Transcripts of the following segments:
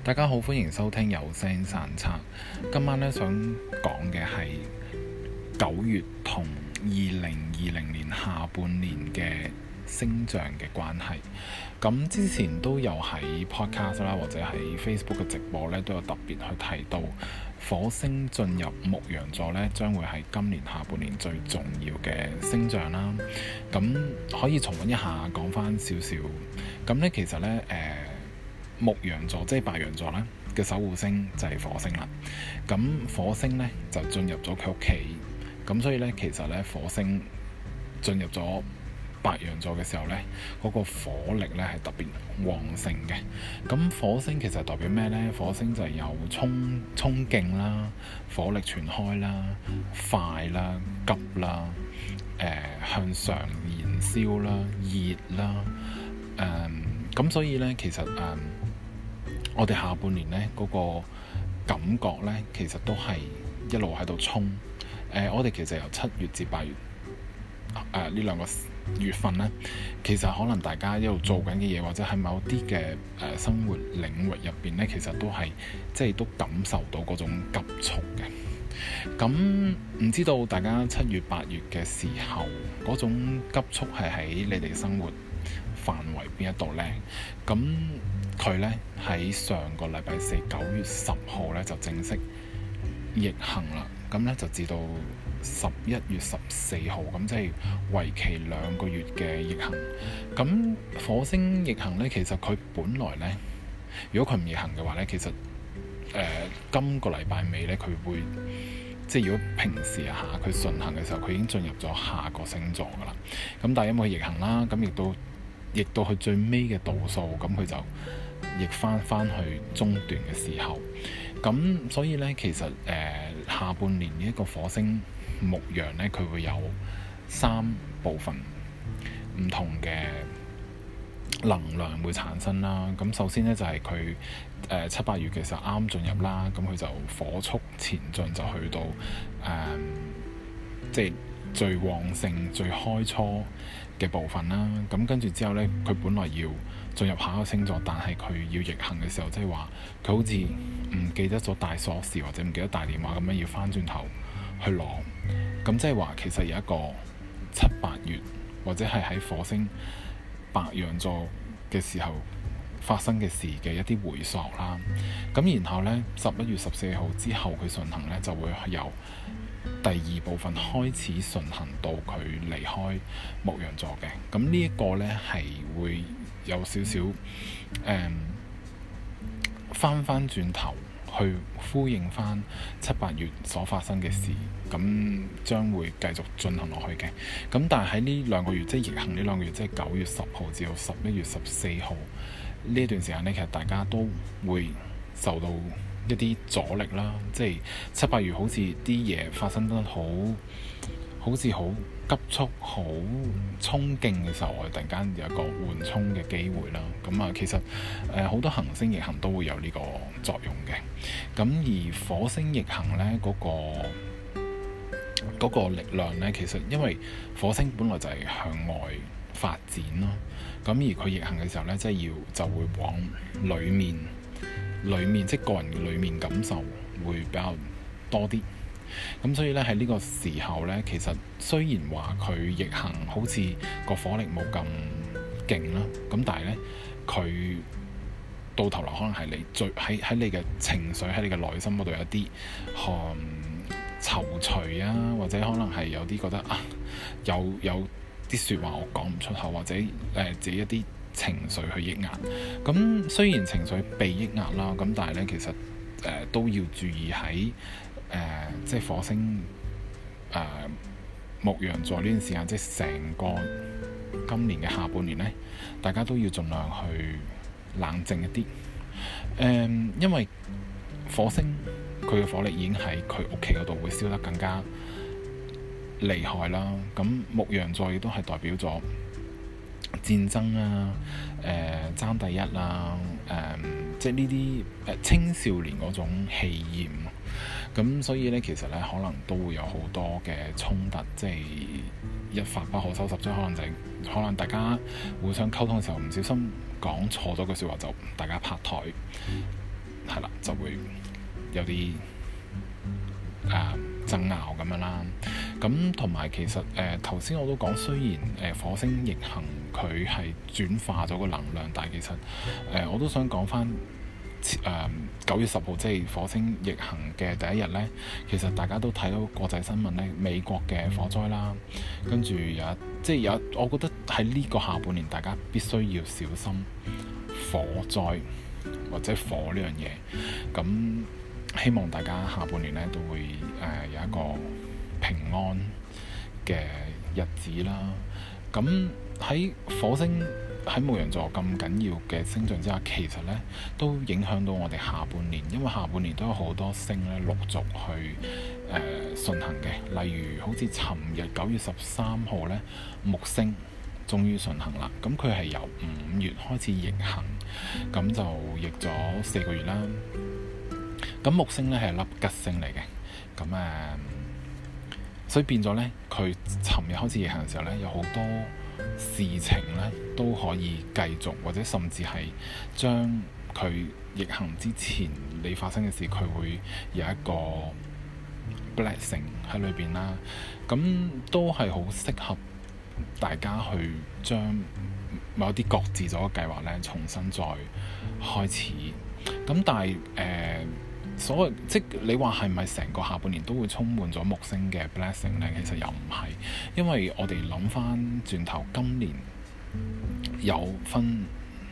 大家好，歡迎收聽有聲散策。今晚咧想講嘅係9月同2020年下半年嘅星象嘅關係。咁之前都有喺 podcast 啦，或者喺 Facebook 嘅直播咧，都有特別去提到火星進入牧羊座咧，將會係今年下半年最重要嘅星象啦。咁可以重溫一下，講翻少少。咁咧其實咧牧羊座即係白羊座咧嘅守護星就係火星啦。咁火星咧就進入咗佢屋企，咁所以咧其實咧火星進入咗白羊座嘅時候咧，嗰個火力咧係特別旺盛嘅。咁火星其實代表咩咧？火星就係有衝勁啦、火力全開啦、快啦、急啦、向上燃燒啦、熱啦。咁所以咧其實我哋下半年咧嗰個感覺咧，其實都係一路喺度衝。我哋其實由7月至8月呢兩個月份咧，其實可能大家一路做緊嘅嘢，或者係某啲嘅生活領域入邊咧，其實都係即係都感受到嗰種急速嘅。咁唔知道大家7月8月嘅時候嗰種急速係喺你哋生活範圍邊一度呢？咁佢呢喺上個禮拜四9月10號呢就正式逆行啦。咁呢就至到11月14號，咁即係為期2個月嘅逆行。咁火星逆行呢，其實佢本來呢，如果佢唔逆行嘅話呢，其實今個禮拜尾呢，佢會即係如果平時佢順行嘅時候，佢已經進入咗下個星座噶啦。咁但係因為逆行啦，咁亦到去最尾嘅度數，咁佢就逆翻去中段嘅時候。咁所以呢，其實下半年呢一個火星牧羊呢，佢會有3部分唔同嘅能量會產生啦。咁首先呢，就係佢7、8月嘅時候啱進入啦，咁佢就火速前進，就去到即係最旺盛、最開初嘅部分啦。咁跟住之後呢，佢本來要進入下一個星座，但係佢要逆行嘅時候，即係話佢好似唔記得咗帶鎖匙或者唔記得帶電話咁樣，要翻轉頭去攞。咁即係話其實有一個7、8月或者係喺火星白羊座嘅時候發生嘅事嘅一啲回溯啦。咁然後呢，11月14號之後佢順行呢，就會由第2部分開始順行到佢離開牧羊座嘅。咁呢一個呢，係會有少少翻轉頭去呼應翻7、8月所發生嘅事，咁將會繼續進行落去嘅。咁但係喺呢2個月，即係逆行呢2個月，即係9月10號至到11月14號呢段時間呢，其實大家都會受到一啲阻力啦。即係7、8月好似啲嘢發生得好似好急速、好衝勁嘅時候，我哋突然間有一個緩衝嘅機會啦。咁其實好多行星逆行都會有呢個作用嘅。咁而火星逆行呢，嗰個力量呢，其實因為火星本來就係向外發展咯。咁而佢逆行嘅時候呢，即係就會往裡面即係個人嘅裡面感受會比較多啲。咁所以咧喺呢個時候咧，其實雖然話佢逆行好似個火力冇咁勁啦，咁但係咧佢到頭來可能係你最喺你嘅情緒喺你嘅內心嗰度有啲躊躇啊，或者可能係有啲覺得有啲説話我講唔出口，或者自己一啲情緒去抑壓。咁雖然情緒被抑壓啦，咁但係咧其實都要注意喺即係火星牧羊座呢段時間，即係成個今年嘅下半年呢，大家都要盡量去冷靜一啲。因為火星佢嘅火力已經喺佢屋企嗰度會燒得更加厲害啦。咁牧羊座亦都係代表咗戰爭啊、爭第一啦、即係呢啲青少年嗰種氣焰。咁所以咧，其實咧可能都會有好多嘅衝突，即係一發不可收拾。即係可能大家互相溝通嘅時候唔小心講錯咗句説話，就大家拍台。 係啦，就會有啲爭拗咁樣啦。咁同埋其實頭先我都講，雖然火星逆行佢係轉化咗個能量，但係其實我都想講翻9月10號即係火星逆行嘅第一日呢，其實大家都睇到國際新聞呢，美國嘅火災啦，跟住有我覺得喺呢個下半年大家必須要小心火災或者火呢樣嘢。咁希望大家下半年呢都會有一個平安嘅日子啦。咁喺火星喺牧羊座咁緊要嘅星象之下，其實呢都影響到我哋下半年，因為下半年都有好多星咧陸續去順行嘅。例如好似尋日9月13號呢，木星終於順行啦。咁佢係由5月開始逆行，咁就逆咗4個月啦。咁木星呢係粒吉星嚟嘅，咁所以變咗呢，佢尋日開始逆行嘅時候呢，有好多事情呢都可以繼續，或者甚至係將佢逆行之前你發生嘅事，佢會有一個 blessing 喺裏邊啦。咁都係好適合大家去將某啲擱置咗嘅計劃呢重新再開始。咁但係所謂即你話係咪成個下半年都會充滿咗木星嘅 blessing 呢？其實又唔係，因為我哋諗翻轉頭，今年有分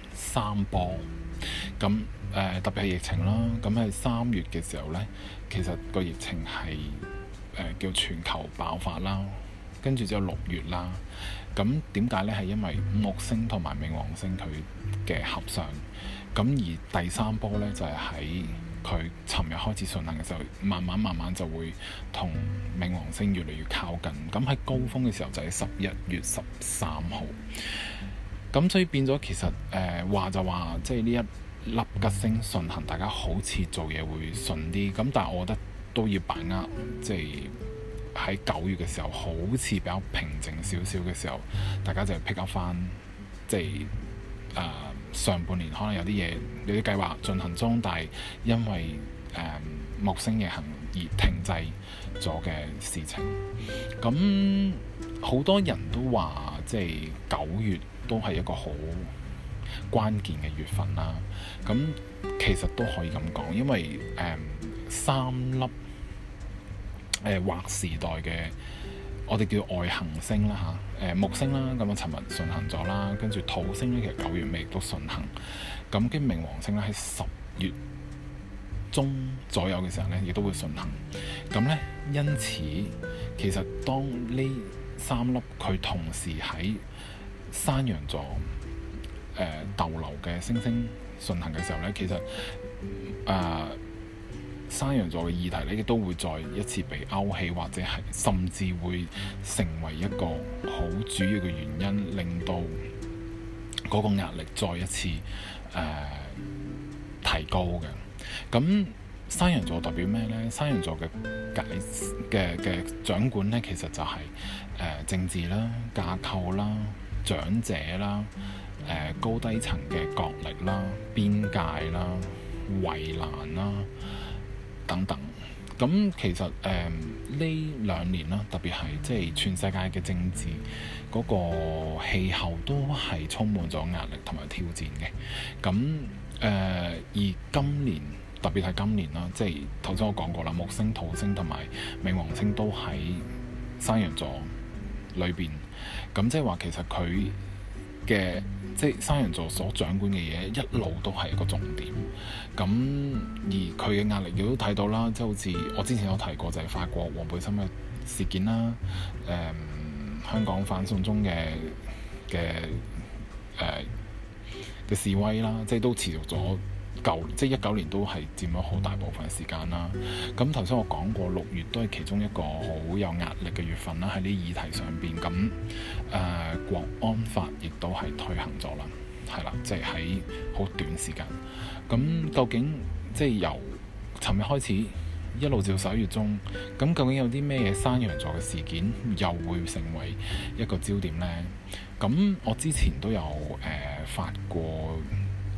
3波，咁特別係疫情啦。咁喺3月嘅時候呢，其實個疫情係叫全球爆發啦，跟住之後6月啦。咁點解呢？係因為木星同埋冥王星佢嘅合相，咁而第3波呢，就係喺佢尋日開始順行嘅時候，慢慢就會同冥王星越嚟越靠近。咁喺高峰嘅時候就係11月13號。咁所以變咗其實話就話，即係呢一粒吉星順行，大家好似做嘢會順啲。咁但係我覺得都要把握，即係喺9月嘅時候，好似比較平靜少少嘅時候，大家就 pick up 翻，即係上半年可能有啲嘢有啲計劃進行中，但係因為木星逆行而停滯咗嘅事情。咁好多人都話，即係9月都係一個好關鍵嘅月份啦。咁其實都可以咁講，因為3粒劃時代嘅我哋叫外行星啦嚇，木星啦，咁啊尋日順行咗啦，跟住土星咧，其實9月尾亦都順行，咁跟冥王星咧喺10月中左右嘅時候咧，亦都會順行。咁咧，因此其實當呢3粒佢同時喺山羊座逗留嘅星星順行嘅時候咧，其實山羊座嘅議題咧，亦都會再一次被勾起，或者係甚至會成為一個好主要嘅原因，令到嗰個壓力再一次提高嘅。咁山羊座代表咩呢？山羊座嘅掌管呢，其實就係政治啦、架構啦、長者啦、高低層嘅角力啦、邊界啦、圍欄啦等等。咁其實呢2年啦，特別係即係全世界嘅政治嗰個氣候都係充滿咗壓力同埋挑戰嘅。咁而今年特別係今年啦，即係頭先我講過啦，木星、土星同埋冥王星都喺山羊座裏邊。咁即係話其實佢嘅即係山羊座所掌管嘅嘢一路都係一個重點。咁而佢嘅壓力亦都睇到啦，即係好似我之前有提過，就係法國黃背心嘅事件啦，香港反送中嘅示威啦，即係都持續咗即係19年都係佔咗好大部分時間啦。咁頭先我講過6月都係其中一個好有壓力嘅月份啦，喺呢議題上邊。咁國安法亦都係推行咗啦，係啦，即係喺好短時間。咁究竟即係由尋日開始一路至11月中，咁究竟有啲咩嘢山羊座嘅事件又會成為一個焦點呢？咁我之前都有發過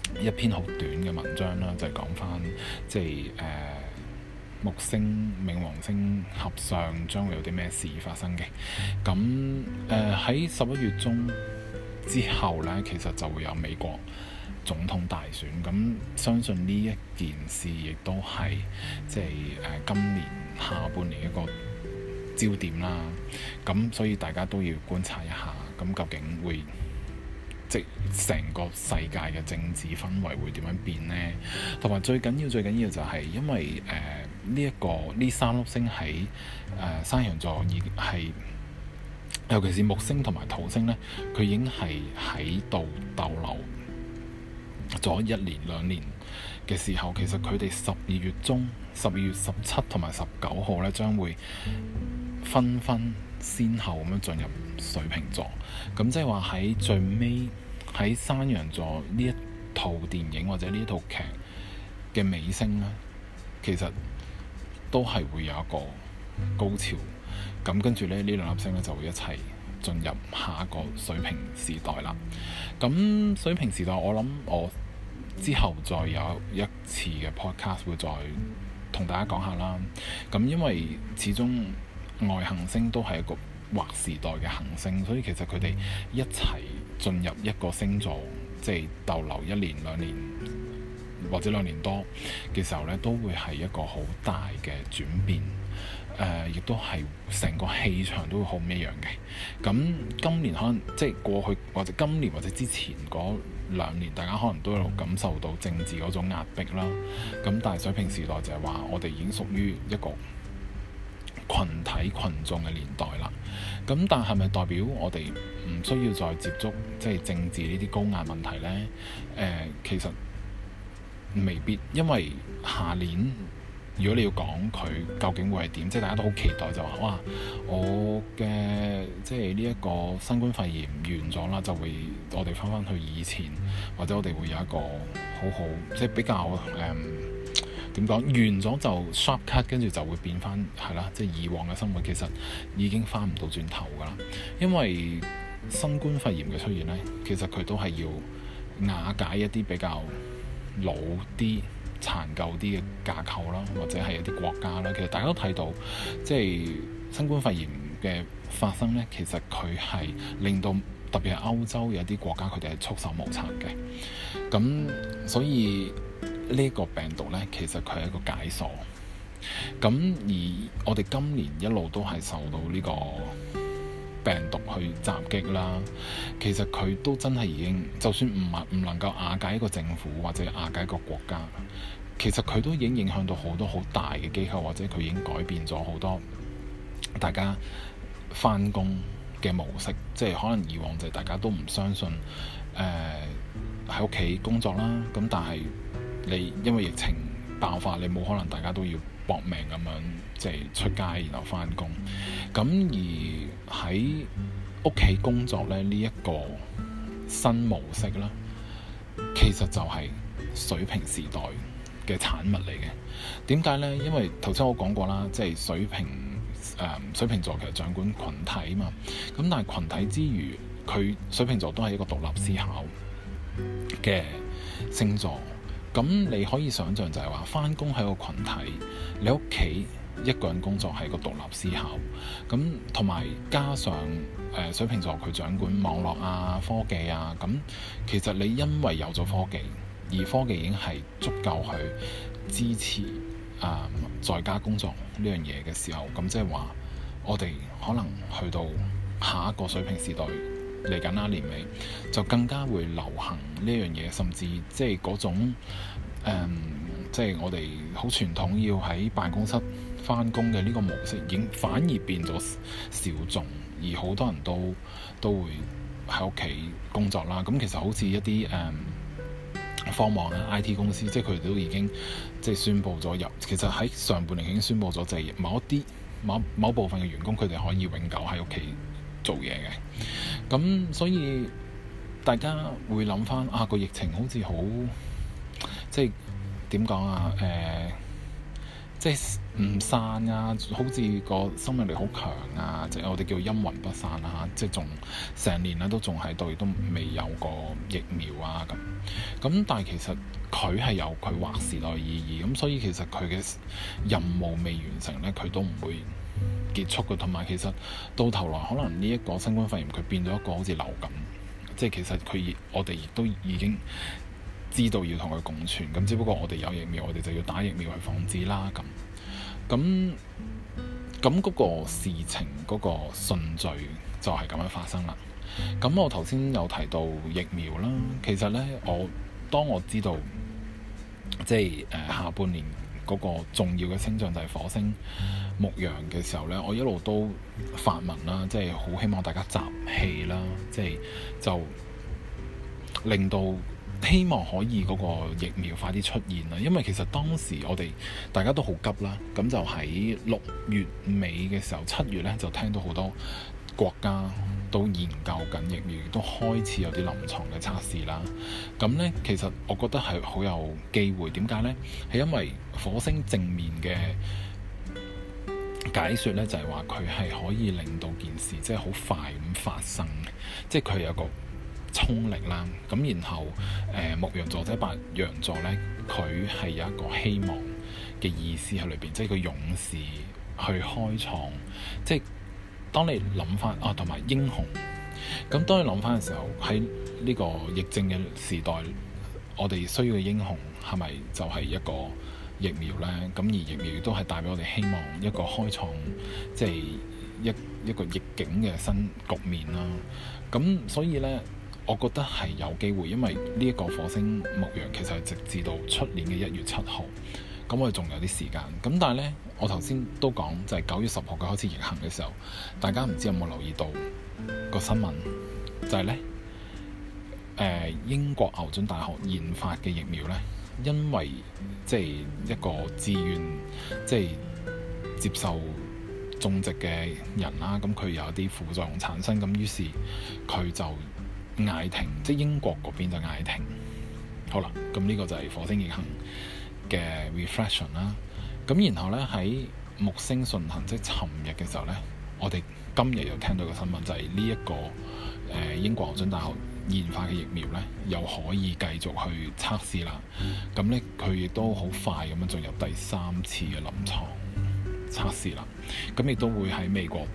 一篇好短嘅文章啦，就係講翻即係木星、冥王星合相將會有啲咩事發生嘅。咁喺11月中之後呢，其實就會有美國總統大選。咁相信呢一件事亦都係即係今年下半年一個焦點啦。咁所以大家都要觀察一下，咁究竟會即成個世界嘅政治氛圍會點樣變呢？同埋最緊要就係因為呢三粒星喺山羊座已經係，尤其是木星同埋土星呢，佢已經係喺度逗留咗1年2年嘅時候，其實佢哋12月中、12月17同埋19號呢，將會紛先後咁樣進入水瓶座。咁即係話喺最尾喺山羊座呢一套電影或者呢一套劇嘅尾聲呢，其實都係會有一個高潮。咁跟住呢兩粒星呢就會一齊進入下一個水瓶時代啦。咁水瓶時代，我諗我之後再有一次嘅 podcast 會再同大家講下啦。咁因為始終外行星都係一個劃時代嘅行星，所以其實佢哋一齊進入一個星座，即係逗留1年2年或者2年多嘅時候呢，都會係一個好大嘅轉變。亦都係成個氣場都會好唔一樣嘅。咁今年可能即係過去或者今年或者之前嗰2年，大家可能都有感受到政治嗰種壓迫啦。咁但係水瓶時代就係話，我哋已經屬於一個群體群眾嘅年代啦。咁但係咪代表我哋唔需要再接觸即係政治呢啲高壓問題呢？其實未必，因為下年如果你要講佢究竟會係點，即係大家都好期待，就話哇，我嘅即係呢一個新冠肺炎完咗啦，就會我哋翻去以前，或者我哋會有一個好即係比較點講，完咗就 sharp cut， 跟住就會變翻係啦，即係以往嘅生活其實已經翻唔到轉頭㗎啦。因為新冠肺炎嘅出現呢，其實佢都係要瓦解一啲比較老啲殘舊啲嘅架構啦，或者係一啲國家啦。其實大家都睇到，即係新冠肺炎嘅發生呢，其實佢係令到特別係歐洲有啲國家佢哋係束手無策嘅。咁所以呢個病毒呢，其實佢係一個解鎖。咁而我哋今年一路都係受到呢個病毒去襲擊啦。其實佢都真係已經，就算唔能夠瓦解一個政府或者瓦解一個國家，其實佢都已經影響到好多好大嘅機構，或者佢已經改變咗好多大家返工嘅模式。即係可能以往就係大家都唔相信喺屋企工作啦。咁但係你因為疫情爆發，你冇可能大家都要搏命咁樣即係出街然後返工。咁而喺屋企工作咧，呢一個新模式啦，其實就係水瓶時代嘅產物嚟嘅。點解呢？因為頭先我講過啦，即係水瓶座其實掌管群體嘛。咁但係群體之餘，佢水瓶座都係一個獨立思考嘅星座。咁你可以想像就係話，返工係個群體，你屋企一個人工作係個獨立思考。咁同埋加上水瓶座佢掌管網絡啊、科技啊。咁其實你因為有咗科技，而科技已經係足夠去支持在家工作呢樣嘢嘅時候，咁即係話我哋可能去到下一個水瓶時代嚟緊啦，年尾就更加會流行呢樣嘢，甚至即係嗰種即係我哋好傳統要喺辦公室返工嘅呢個模式，已經反而變咗小眾，而好多人都會喺屋企工作啦。咁其實好似一啲科網啊、IT 公司，即係佢哋都已經即係宣布咗其實喺上半年已經宣布咗，就係某部分嘅員工佢哋可以永久喺屋企做嘢嘅。咁所以大家會諗翻個疫情好似好即係點講啊？即即係唔散啊，好似個生命力好強啊，即係我哋叫陰魂不散啊，即係仲成年咧都仲喺度，亦都未有個疫苗啊咁。但係其實佢係有佢劃時代意義，咁所以其實佢嘅任務未完成咧，佢都唔會結束嘅。同埋其實到頭來可能呢一個新冠肺炎佢變咗一個好似流感，即係其實我哋亦都已經知道要同佢共存，咁只不過我哋有疫苗，我哋就要打疫苗去防止啦。咁嗰個事情嗰個順序就係咁樣發生啦。咁我頭先有提到疫苗啦，其實呢，當我知道即係下半年嗰個重要嘅星象就係火星牧羊嘅時候呢，我一路都發文啦，即係好希望大家集氣啦，即係就令到希望可以嗰個疫苗快啲出現啦。因為其實當時我哋大家都好急啦，咁就喺6月尾嘅時候，7月呢就聽到好多國家都研究緊疫苗，亦都開始有啲臨床嘅測試啦。咁呢，其實我覺得係好有機會。點解呢？係因為火星正面嘅解說呢，就係話佢係可以令到件事即係好快咁發生，即係佢有個衝力啦。咁然後牧羊座或者白羊座呢，佢係有一個希望嘅意思喺裏邊，即係個勇士去開創，即係當你諗翻同埋英雄。咁當你諗翻嘅時候，喺呢個疫症嘅時代，我哋需要嘅英雄係咪就係一個疫苗呢？咁而疫苗亦都係帶俾我哋希望，一個開創即係一個逆境嘅新局面啦。咁所以呢，我覺得係有機會，因為呢一個火星牧羊其實係直至到出年嘅1月7號，咁我哋仲有啲時間。咁但係呢，我頭先都講就係9月10號佢開始逆行嘅時候，大家唔知有冇留意到個新聞，就係呢，英國牛津大學研發嘅疫苗呢，因為即係一個自願即係接受種植嘅人啦，咁佢有一啲副作用產生，咁於是佢就嗌停，即係英國嗰邊就嗌停。好啦，咁呢個就係火星逆行嘅 reflection 啦。咁然後呢，喺木星順行，即係尋日嘅時候呢，我哋今日又聽到個新聞，就係呢一個英國牛津大學研發嘅疫苗呢，又可以繼續去測試啦。咁呢，佢亦都好快咁樣進入第3次嘅臨床測試啦。咁亦都會喺美國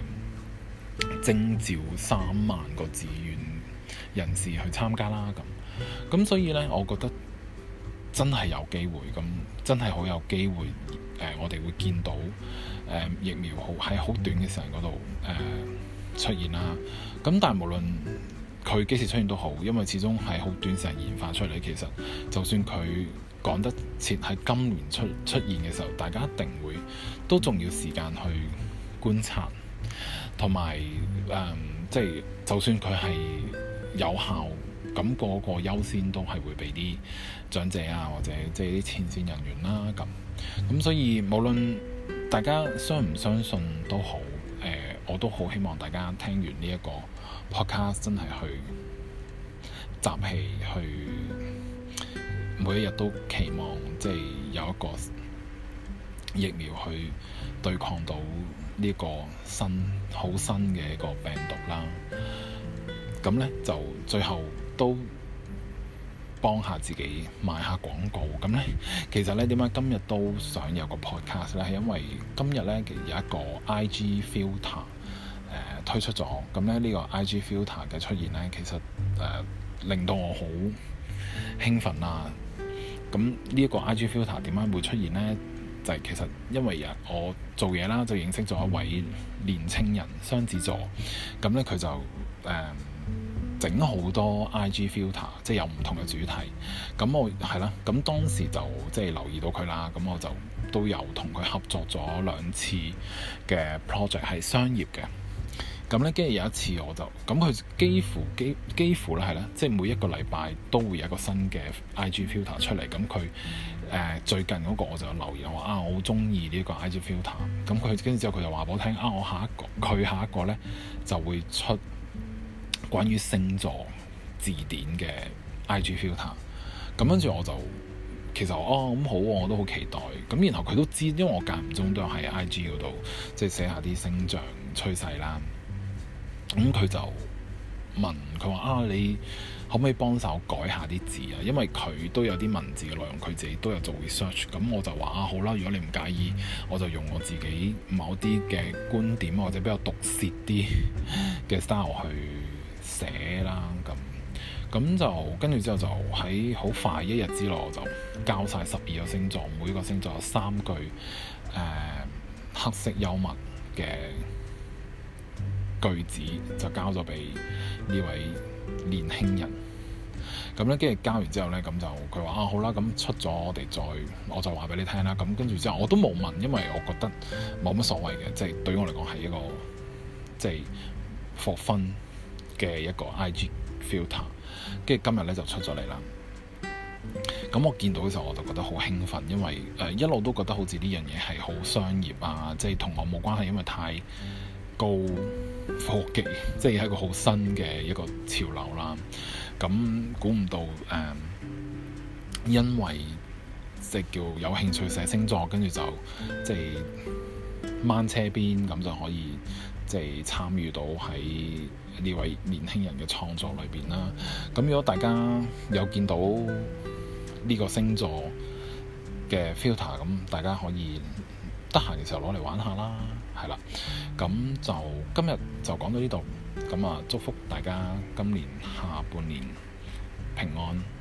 徵召3萬個志願人士去參加啦。咁所以呢，我覺得真係有機會，咁真係好有機會。我哋會見到疫苗喺好短嘅時間嗰度出現啦。咁但係無論佢幾時出現都好，因為始終係好短時間研發出嚟。其實就算佢趕得切喺今年出現嘅時候，大家一定會都仲要時間去觀察，同埋即係就算佢係有效，咁嗰個優先都係會俾啲長者啊，或者即係啲前線人員啦。咁所以無論大家相唔相信都好，我都好希望大家聽完呢一個 podcast 真係去集氣，去每一日都期望即係有一個疫苗去對抗到呢個好新嘅一個病毒啦。咁呢，就最後都幫下自己賣下廣告。咁呢，其實呢，點解今日都想有個 podcast 呢？係因為今日呢，其實有一個 IG filter 推出咗。咁呢，呢個 IG filter 嘅出現呢，其實令到我好興奮啦。咁呢一個 IG filter 點解會出現呢？就係其實因為我做嘢啦，就認識咗一位年青人，雙子座。咁呢，佢就整好多 IG filter， 即係有唔同嘅主題。咁我係啦，咁當時就即係留意到佢啦。咁我就都有同佢合作咗2次嘅 project 係商業嘅。咁咧，跟住有一次我就咁，佢幾乎咧係啦，即係每一個禮拜都會有一個新嘅 IG filter 出嚟。咁佢最近嗰個我就有留意，我話我好中意呢個 IG filter。咁佢跟住之後佢就話俾我聽我佢下一個咧就會出關於星座字典嘅 IG filter。咁跟住我就其實咁好喎，我都好期待。咁然後佢都知，因為我間唔中都有喺 IG 嗰度即係寫下啲星象趨勢啦。咁佢就問佢話你可唔可以幫手改下啲字啊？因為佢都有啲文字嘅內容，佢自己都有做 research。咁我就話好啦，如果你唔介意，我就用我自己某啲嘅觀點或者比較毒舌啲嘅 style 去寫啦。咁就跟住之後就喺好快一日之內我就交晒12個星座，每個星座有3句黑色幽默嘅句子，就交咗俾呢位年輕人。咁咧，跟住交完之後咧，咁就佢話好啦，咁出咗我就話俾你聽啦。咁跟住之後我都冇問，因為我覺得冇乜所謂嘅，即係對於我嚟講係一個即係 for fun 嘅一個 IG filter。跟住今日咧就出咗嚟啦。咁我見到嘅時候我就覺得好興奮，因為一路都覺得好似呢樣嘢係好商業啊，即係同我冇關係，因為太高科技，即係一個好新嘅一個潮流啦。咁估唔到因為即係叫有興趣寫星座，跟住就即係掹車邊咁就可以即係參與到喺呢位年輕人嘅創作裏邊啦。咁如果大家有見到呢個星座嘅 filter， 咁大家可以得閒嘅時候攞嚟玩下啦，係啦。咁就今日就講到呢度，咁祝福大家今年下半年平安。